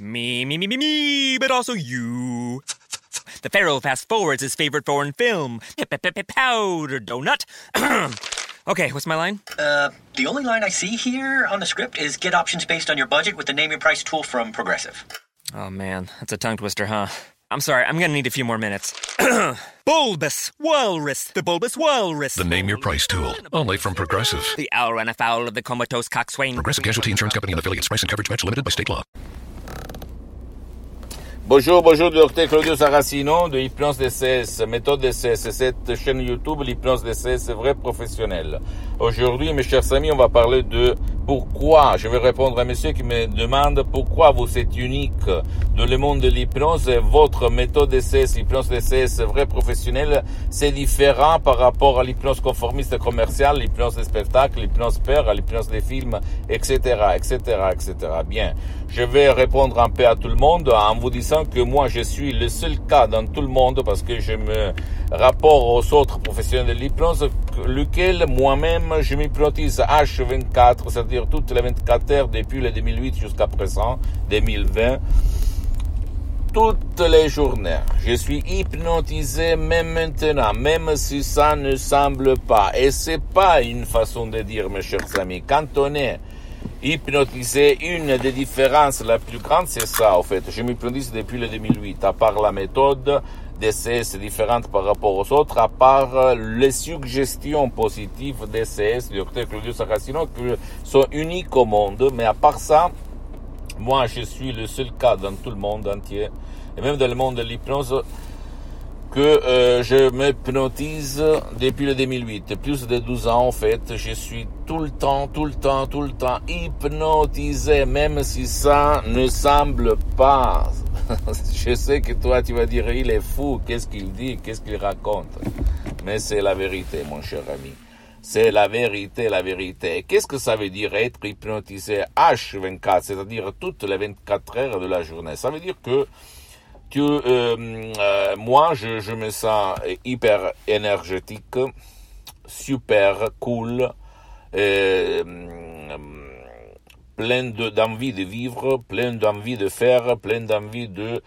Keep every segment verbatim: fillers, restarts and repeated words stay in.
Me, me, me, me, me, but also you. The Pharaoh fast forwards his favorite foreign film, Powder Donut. Okay, what's my line? Uh, the only line I see here on the script is get options based on your budget with the Name Your Price tool from Progressive. Oh man, that's a tongue twister, huh? I'm sorry, I'm gonna need a few more minutes. Bulbous Walrus, the Bulbous Walrus. The Name Your Price tool, only from Progressive. The owl ran afoul of the comatose coxswain. Progressive Casualty Insurance Company and affiliates. Price and coverage match limited by state law. Bonjour, bonjour, docteur Claudio Saracino de Hypnose D C S, méthode D C S, cette chaîne YouTube, l'Hypnose D C S, vrai professionnel. Aujourd'hui, mes chers amis, on va parler de pourquoi, je vais répondre à monsieur qui me demande pourquoi vous êtes unique dans le monde de l'hypnose et votre méthode D C S, l'hypnose D C S, vrai professionnel, c'est différent par rapport à l'hypnose conformiste commerciale, l'hypnose des spectacles, l'hypnose père, l'hypnose des films, et cetera, et cetera, et cetera. Bien, je vais répondre un peu à tout le monde en vous disant que moi je suis le seul cas dans tout le monde parce que je me rapporte aux autres professionnels de l'hypnose, lequel moi-même je m'hypnotise H vingt-quatre, c'est-à-dire toutes les vingt-quatre heures depuis le deux mille huit jusqu'à présent, deux mille vingt, toutes les journées. Je suis hypnotisé même maintenant, même si ça ne semble pas. Et c'est pas une façon de dire, mes chers amis. Quand on est hypnotisé, une des différences la plus grande, c'est ça, en fait. Je m'hypnotise depuis le deux mille huit, à part la méthode D C S différente par rapport aux autres, à part les suggestions positives D C S, du docteur Claudio Saracino, qui sont uniques au monde. Mais à part ça, moi, je suis le seul cas dans tout le monde entier, et même dans le monde de l'hypnose, que euh, je m'hypnotise depuis le deux mille huit. Plus de douze ans, en fait, je suis tout le temps, tout le temps, tout le temps hypnotisé, même si ça ne semble pas. Je sais que toi, tu vas dire, il est fou, qu'est-ce qu'il dit, qu'est-ce qu'il raconte. Mais c'est la vérité, mon cher ami. C'est la vérité, la vérité. Qu'est-ce que ça veut dire être hypnotisé H vingt-quatre, c'est-à-dire toutes les vingt-quatre heures de la journée? Ça veut dire que tu, euh, euh, moi, je, je me sens hyper énergétique, super cool, euh, plein de, d'envie de vivre, plein d'envie de faire, plein d'envie de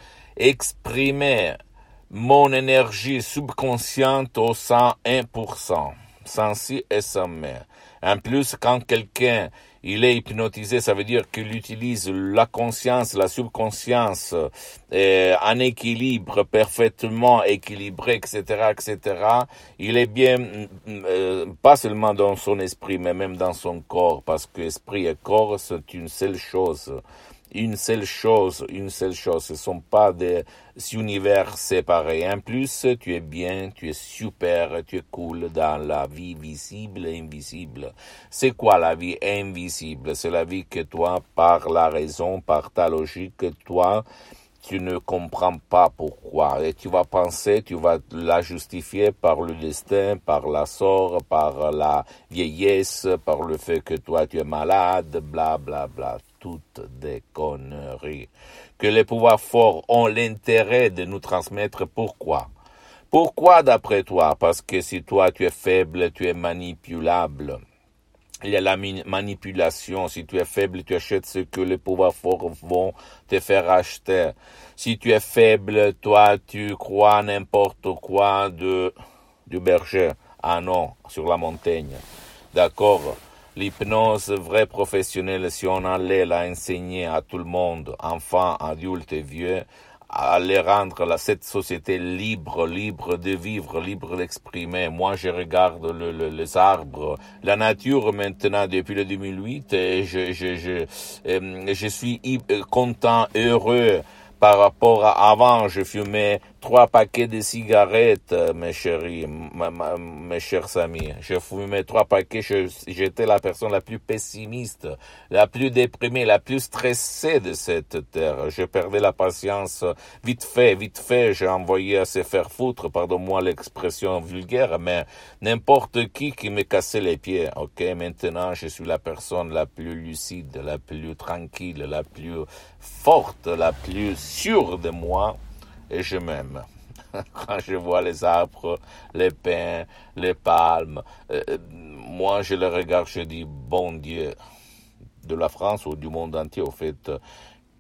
exprimer mon énergie subconsciente au cent un pour cent, sans si et sans mais. En plus, quand quelqu'un il est hypnotisé, ça veut dire qu'il utilise la conscience, la subconscience, euh, en équilibre, parfaitement équilibré, et cetera, et cetera. Il est bien, euh, pas seulement dans son esprit, mais même dans son corps, parce que esprit et corps, c'est une seule chose. Une seule chose, une seule chose. Ce ne sont pas des univers séparés. En plus, tu es bien, tu es super, tu es cool dans la vie visible et invisible. C'est quoi la vie invisible? C'est la vie que toi, par la raison, par ta logique, toi, tu ne comprends pas pourquoi. Et tu vas penser, tu vas la justifier par le destin, par la sort, par la vieillesse, par le fait que toi, tu es malade, bla, bla, bla. Toutes des conneries que les pouvoirs forts ont l'intérêt de nous transmettre. Pourquoi? Pourquoi d'après toi? Parce que si toi tu es faible, tu es manipulable. Il y a la manipulation. Si tu es faible, tu achètes ce que les pouvoirs forts vont te faire acheter. Si tu es faible, toi tu crois n'importe quoi de du berger. Ah non, sur la montagne. D'accord? L'hypnose vraie professionnelle, si on allait la enseigner à tout le monde, enfants, adultes et vieux, à les rendre la, cette société libre, libre de vivre, libre d'exprimer. Moi, je regarde le, le, les arbres, la nature maintenant depuis le deux mille huit, et je, je, je, euh, je suis content, heureux. Par rapport à avant, je fumais trois paquets de cigarettes, mes chéris, ma, ma, mes chers amis. Je fumais trois paquets, je, j'étais la personne la plus pessimiste, la plus déprimée, la plus stressée de cette terre. Je perdais la patience vite fait, vite fait. J'ai envoyé à se faire foutre, pardonne-moi l'expression vulgaire, mais n'importe qui qui me cassait les pieds. Ok, maintenant je suis la personne la plus lucide, la plus tranquille, la plus forte, la plus sûre de moi, et je m'aime. Quand je vois les arbres, les pins, les palmes, euh, moi je les regarde, je dis, bon Dieu, de la France ou du monde entier, au fait,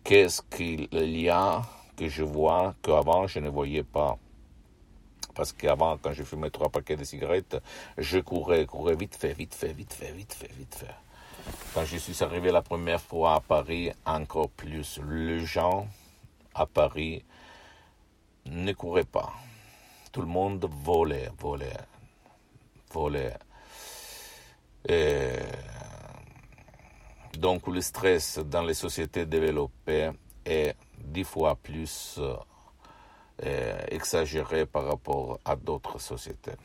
qu'est-ce qu'il y a que je vois qu'avant je ne voyais pas. Parce qu'avant, quand je fumais trois paquets de cigarettes, je courais, courais vite fait, vite fait, vite fait, vite fait, vite fait. Quand je suis arrivé la première fois à Paris, encore plus. Les gens à Paris ne couraient pas. Tout le monde volait, volait, volait. Et donc le stress dans les sociétés développées est dix fois plus euh, exagéré par rapport à d'autres sociétés.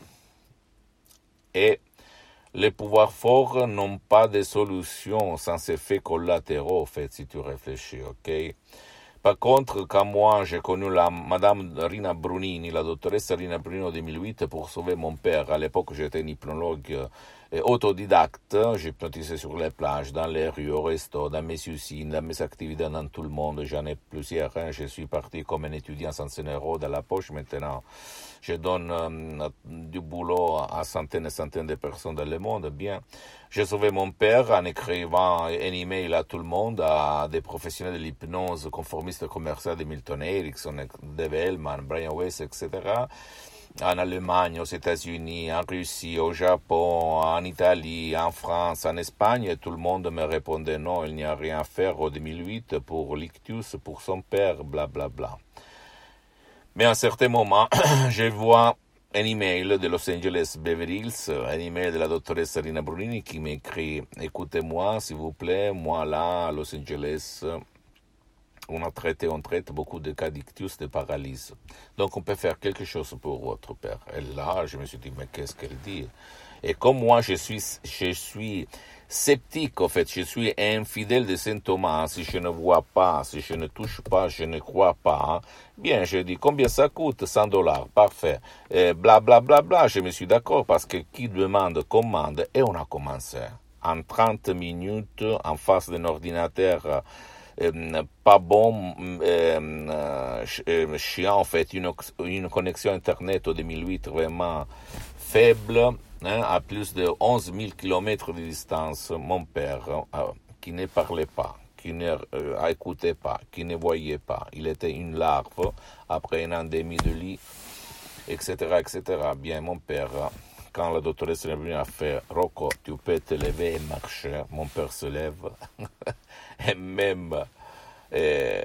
Et les pouvoirs forts n'ont pas de solution sans effets collatéraux, en fait, si tu réfléchis, ok? Par contre, quand moi j'ai connu la Madame Rina Brunini, la doctoresse Rina Brunini en deux mille huit pour sauver mon père, à l'époque j'étais un hypnologue euh, autodidacte, j'hypnotisais sur les plages, dans les rues, au resto, dans mes usines, dans mes activités dans tout le monde, j'en ai plusieurs, hein. Je suis parti comme un étudiant sans cent euros dans la poche, maintenant je donne euh, du boulot à centaines et centaines de personnes dans le monde, bien. J'ai sauvé mon père en écrivant un email à tout le monde, à des professionnels de l'hypnose conformiste commerciale de Milton Erickson, Dave Hellman, Brian Weiss, et cetera. En Allemagne, aux États-Unis, en Russie, au Japon, en Italie, en France, en Espagne, et tout le monde me répondait non, il n'y a rien à faire en deux mille huit pour l'ictus, pour son père, blablabla. Bla, bla. Mais à un certain moment, je vois un email de Los Angeles Beverly Hills, un email de la doctoresse Rina Brunini qui m'écrit « Écoutez-moi, s'il vous plaît, moi là, à Los Angeles, on a traité, on traite beaucoup de cas d'ictus, de paralysie. Donc on peut faire quelque chose pour votre père. » Et là, je me suis dit « Mais qu'est-ce qu'elle dit ?» Et comme moi, je suis, je suis sceptique, en fait, je suis infidèle de Saint Thomas. Si je ne vois pas, si je ne touche pas, je ne crois pas. Bien, je dis, combien ça coûte? cent dollars, parfait. Et bla, bla, bla, bla, je me suis d'accord parce que qui demande, commande. Et on a commencé. En trente minutes, en face d'un ordinateur euh, pas bon, euh, euh, chiant, en fait, une, une connexion Internet au deux mille huit vraiment faible, hein, à plus de onze mille kilomètres de distance, mon père, euh, qui ne parlait pas, qui ne euh, écoutait pas, qui ne voyait pas. Il était une larve après un an et demi de lit, et cetera, et cetera. Bien, mon père, quand la doctoresse est venue a fait « Rocco, tu peux te lever et marcher », mon père se lève, et même euh,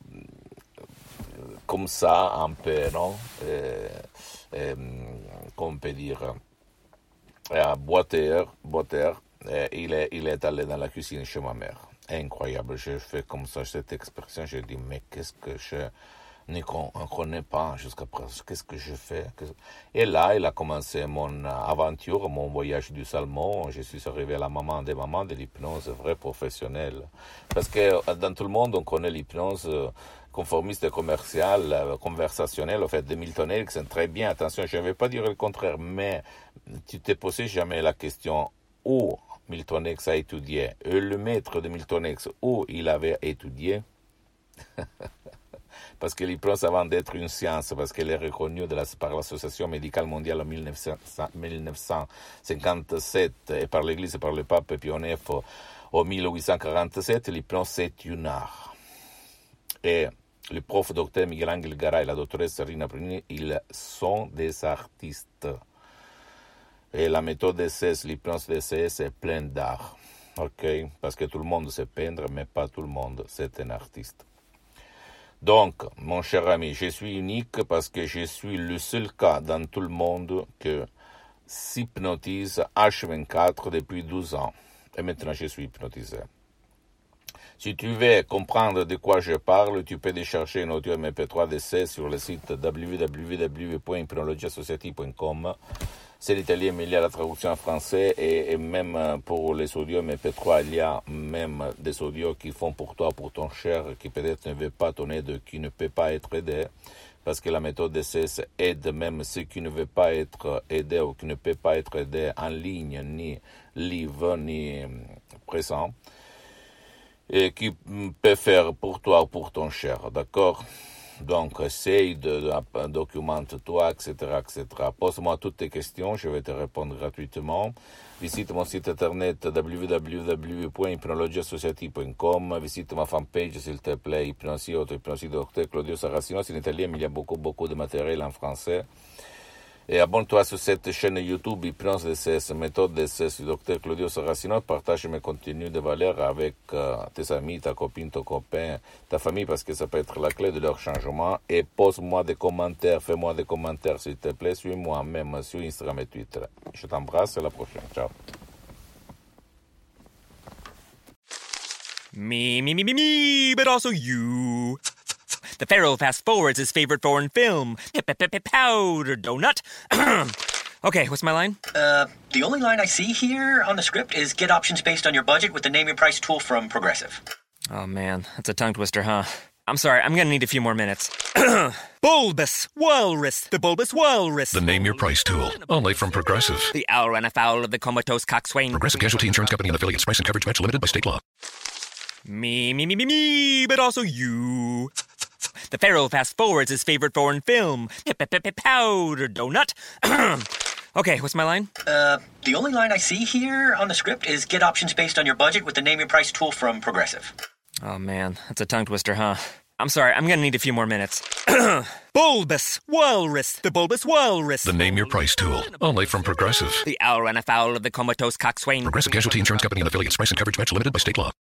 comme ça, un peu, non euh, euh, Comment on peut dire à boiteur, boiteur, il est, il est allé dans la cuisine chez ma mère. Incroyable, je fais comme ça cette expression, je dis, mais qu'est-ce que je ne connais pas jusqu'à présent, qu'est-ce que je fais? Et là, il a commencé mon aventure, mon voyage du salmon, je suis arrivé à la maman des mamans de l'hypnose vraie professionnelle. Parce que dans tout le monde, on connaît l'hypnose conformiste commercial, conversationnel, en fait, de Milton Erickson, très bien, attention, je ne vais pas dire le contraire, mais tu t'es posé jamais la question où Milton X a étudié, et le maître de Milton X, où il avait étudié, parce que l'hypnose, avant d'être une science, parce qu'elle est reconnue de la, par l'Association médicale mondiale en mille neuf cent cinquante-sept et par l'Église et par le pape Pie neuf en mille huit cent quarante-sept, l'hypnose c'est un art. Et le prof docteur Miguel Ángel Garay et la doctoresse Rina Brunini, ils sont des artistes. Et la méthode D C S, l'hypnose D C S est pleine d'art. Ok? Parce que tout le monde sait peindre, mais pas tout le monde, c'est un artiste. Donc, mon cher ami, je suis unique parce que je suis le seul cas dans tout le monde que s'hypnotise H vingt-quatre depuis douze ans. Et maintenant, je suis hypnotisé. Si tu veux comprendre de quoi je parle, tu peux décharger un audio M P trois D C sur le site w w w point hypnologie associative point com. C'est l'italien, mais il y a la traduction en français et, et même pour les audios M P trois, il y a même des audios qui font pour toi, pour ton cher, qui peut-être ne veut pas ton aide, qui ne peut pas être aidé, parce que la méthode D C S aide même ceux qui ne veulent pas être aidés ou qui ne peuvent pas être aidés en ligne, ni live, ni présent, et qui peut faire pour toi ou pour ton cher, d'accord? Donc, essaye de, de documente-toi, et cetera, et cetera. Pose-moi toutes tes questions, je vais te répondre gratuitement. Visite mon site internet w w w point hypnologieassociative point com. Visite ma fanpage, s'il te plaît, Hypnosie, auto-hypnosie de docteur Claudio Saracino. C'est en italien, mais il y a beaucoup, beaucoup de matériel en français. Et abonne-toi sur cette chaîne YouTube Hypnose D C S, méthode D C S du docteur Claudio Saracino. Partage mes contenus de valeur avec euh, tes amis, ta copine, ton copain, ta famille, parce que ça peut être la clé de leur changement. Et pose-moi des commentaires, fais-moi des commentaires s'il te plaît. Suis-moi même sur Instagram et Twitter. Je t'embrasse, à la prochaine. Ciao. Me, me, me, me, me, but also you. The Pharaoh fast forwards his favorite foreign film, Powder Donut. Okay, what's my line? Uh, the only line I see here on the script is get options based on your budget with the Name Your Price tool from Progressive. Oh man, that's a tongue twister, huh? I'm sorry, I'm gonna need a few more minutes. Bulbous Walrus, the Bulbous Walrus. The Name Your Price tool, only from Progressive. The owl ran afoul of the comatose coxswain. Progressive Casualty Insurance Company and affiliates. Price and coverage match limited by state law. Me, me, me, me, me, but also you. The Pharaoh fast forwards his favorite foreign film, Powder Donut. Okay, what's my line? Uh, the only line I see here on the script is get options based on your budget with the Name Your Price tool from Progressive. Oh man, that's a tongue twister, huh? I'm sorry, I'm gonna need a few more minutes. Bulbous Walrus, the Bulbous Walrus. The Name Your Price tool, only from Progressive. The owl ran afoul of the comatose coxswain. Progressive Casualty Insurance Company and affiliates. Price and coverage match limited by state law.